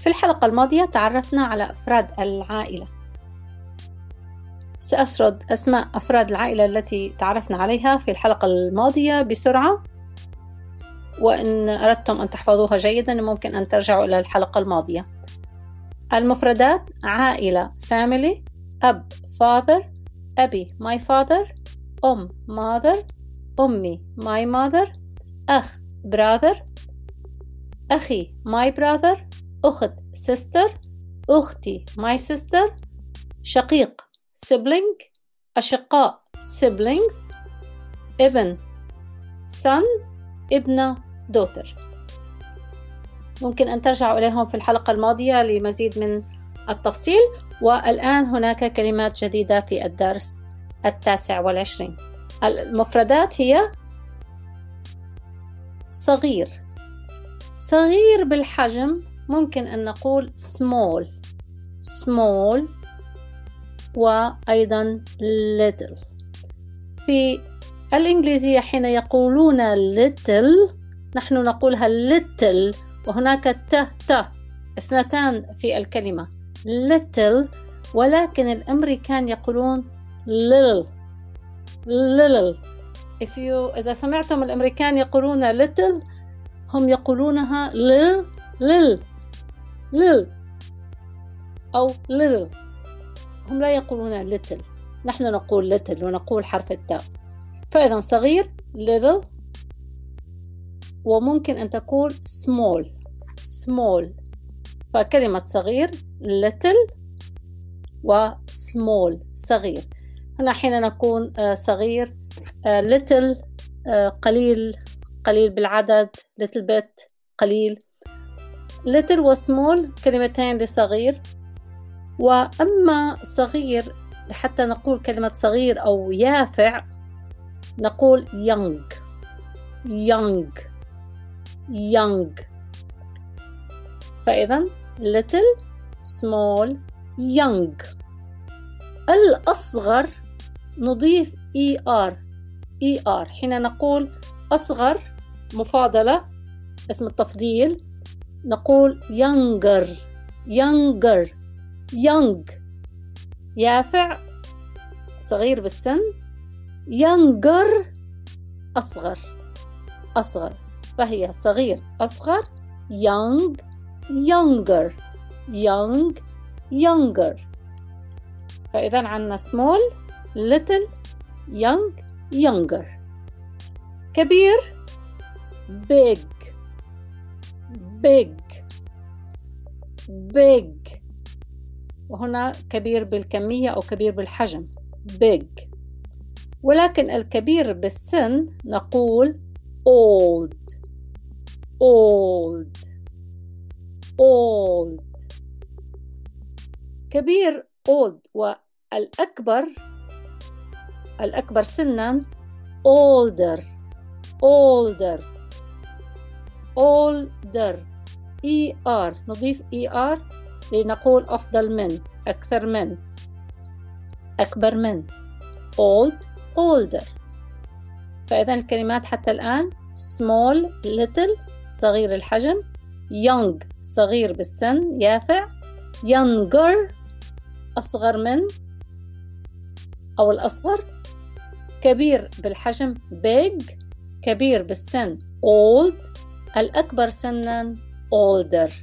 في الحلقة الماضية تعرفنا على أفراد العائلة. سأسرد أسماء أفراد العائلة التي تعرفنا عليها في الحلقة الماضية بسرعة، وإن أردتم أن تحفظوها جيدا ممكن أن ترجعوا إلى الحلقة الماضية. المفردات: عائلة family، أب father، أبي my father، mother، أمي my mother، أخ brother، أخي my brother، أخت sister، أختي my sister، شقيق sibling، أشقاء siblings، ابن son، ابنة daughter. ممكن أن ترجعوا إليهم في الحلقة الماضية لمزيد من التفصيل. والآن هناك كلمات جديدة في الدرس 29. المفردات هي صغير. صغير بالحجم ممكن أن نقول small وأيضا little. في الإنجليزية حين يقولون little نحن نقولها little، وهناك ت اثنتان في الكلمة little، ولكن الأمريكان يقولون little. إذا سمعتم الأمريكان يقولون little هم يقولونها lil أو little، هم لا يقولون little. نحن نقول little ونقول حرف التاء. فإذا صغير little، وممكن أن تكون small. فكلمة صغير little وsmall صغير. هنا حين نكون صغير little قليل بالعدد، little bit قليل. little وsmall كلمتين لصغير. وأما صغير حتى نقول كلمة صغير أو يافع نقول young. فإذا little small young. الأصغر نضيف ER حين نقول أصغر مفاضلة اسم التفضيل نقول younger young. يافع صغير بالسن، younger أصغر. فهي صغير أصغر، young younger. فإذا عندنا small little young younger. كبير big، وهنا كبير بالكمية أو كبير بالحجم big. ولكن الكبير بالسن نقول old. كبير old، والأكبر سنا older. نضيف ER لنقول أفضل من، أكثر من، أكبر من. older. فإذا الكلمات حتى الآن small little صغير الحجم، young صغير بالسن يافع، younger أصغر من أو الأصغر، كبير بالحجم big، كبير بالسن old، الأكبر سنا older.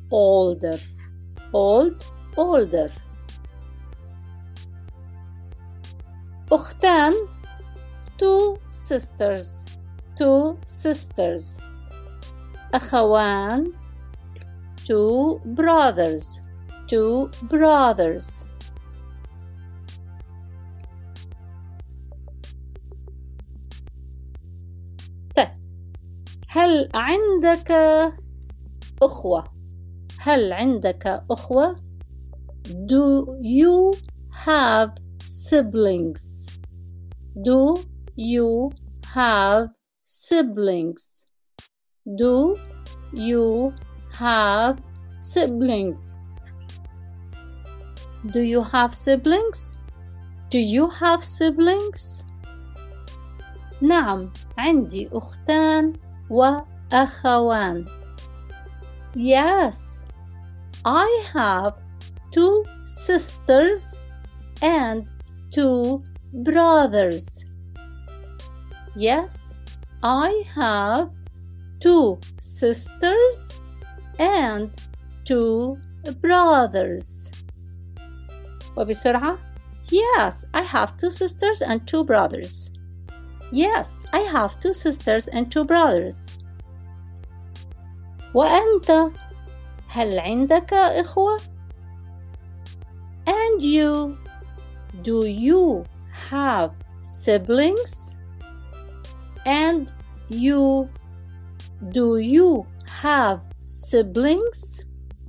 أختان two sisters. أخوان two brothers. طيب، هل عندك أخوة؟ Do you have siblings? نعم، عندي أختان وأخوان. Yes, I have 2 sisters and 2 brothers. Yes, I have 2 sisters and 2 brothers. وبسرعة. Yes, I have 2 sisters and 2 brothers. Yes, I have 2 sisters and 2 brothers. وأنت؟ هل عندك إخوة؟ And you? Do you have siblings? And you? Do you have siblings?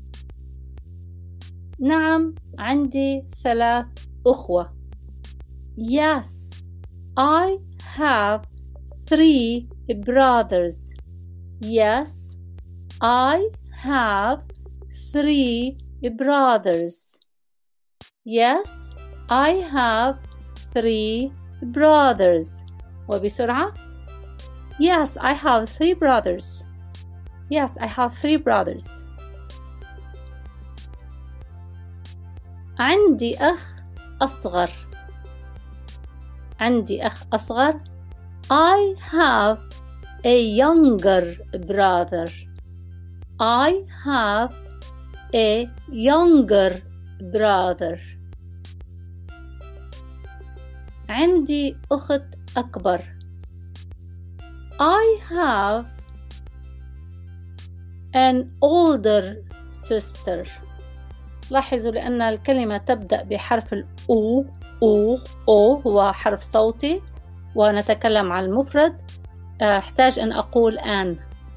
نعم، عندي 3 أخوة. Yes, I have 3 brothers. Yes, I have 3 brothers. Yes, I have 3 brothers. وبسرعة. Yes, I have 3 brothers. Yes, I have 3 brothers. عندي أخ أصغر. عندي أخ أصغر. I have a younger brother. I have a younger brother. عندي أخت أكبر. I have an older sister. لاحظوا لأن الكلمة تبدأ بحرف الأو. أو هو حرف صوتي ونتكلم عن المفرد. أحتاج أن أقول an.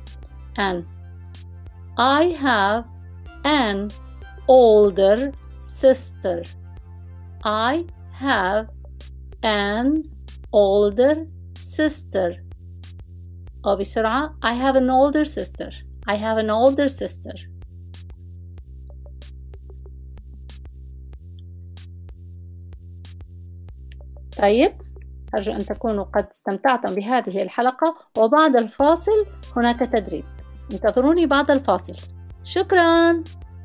I have an older sister. I have an older sister. أو بسرعة. I have an older sister. I have an older sister. طيب، أرجو أن تكونوا قد استمتعتم بهذه الحلقة، وبعد الفاصل هناك تدريب. انتظروني بعد الفاصل. شكراً.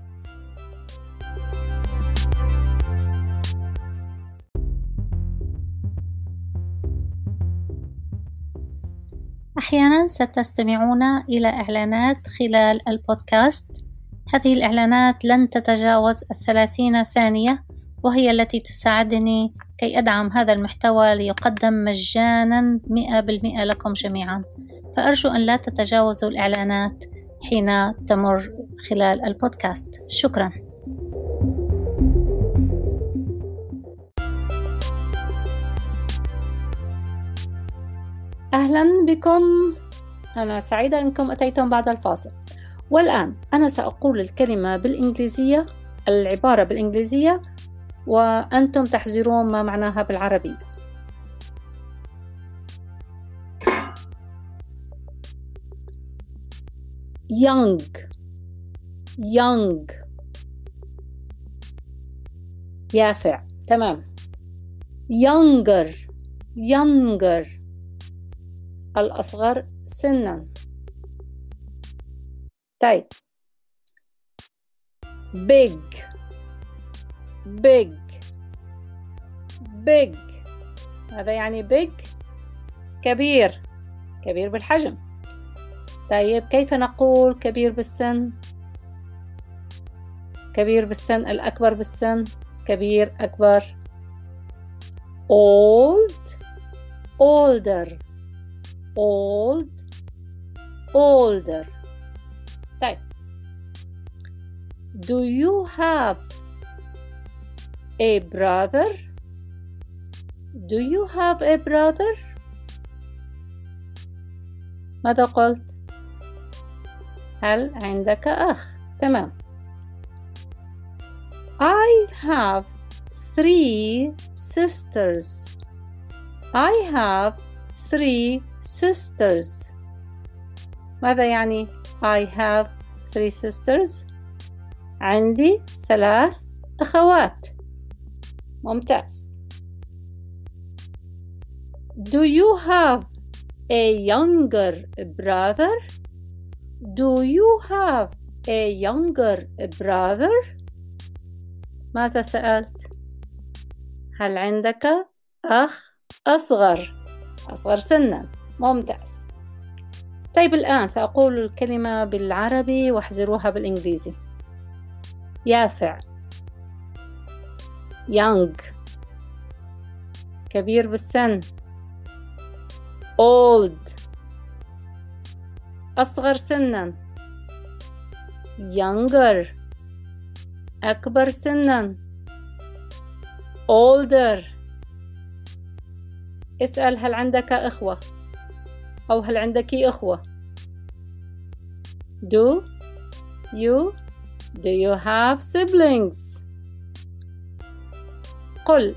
أحياناً ستستمعون إلى إعلانات خلال البودكاست. هذه الإعلانات لن تتجاوز 30 ثانية، وهي التي تساعدني كي أدعم هذا المحتوى ليقدم مجاناً 100% لكم جميعاً. فأرجو أن لا تتجاوزوا الإعلانات حين تمر خلال البودكاست. شكراً. أهلاً بكم. أنا سعيدة أنكم أتيتم بعد الفاصل. والآن أنا سأقول الكلمة بالإنجليزية، العبارة بالإنجليزية، وأنتم تحذرون ما معناها بالعربية. young يافع. تمام. younger الأصغر سناً. طيب. big هذا يعني big كبير بالحجم. طيب، كيف نقول كبير بالسن؟ الأكبر بالسن. كبير أكبر. older. طيب. Do you have a brother? ماذا قلت؟ هل عندك أخ؟ تمام. I have 3 sisters. ماذا يعني I have 3 sisters؟ عندي 3 أخوات. ممتاز. Do you have a younger brother? a younger brother؟ ماذا سألت؟ هل عندك أخ أصغر سنا؟ ممتاز. طيب الآن سأقول الكلمة بالعربي واحذروها بالإنجليزي. يافع young، كبير بالسن old، أصغر سنا younger، أكبر سنا older. اسأل هل عندك إخوة أو هل عندك إخوة. Do you have siblings؟ قل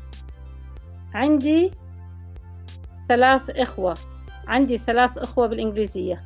عندي 3 إخوة. عندي 3 إخوة بالإنجليزية.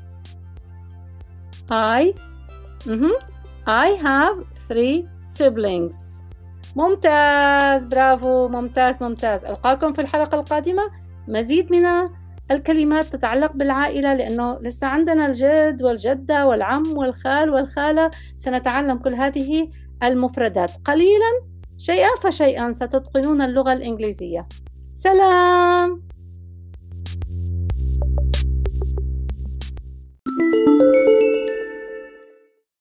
I have 3 siblings. ممتاز، برافو، ممتاز. ألقاكم في الحلقة القادمة مزيد من الكلمات تتعلق بالعائلة، لأنه لسه عندنا الجد والجدة والعم والخال والخالة. سنتعلم كل هذه المفردات قليلا، شيئا فشيئا ستتقنون اللغة الإنجليزية. سلام.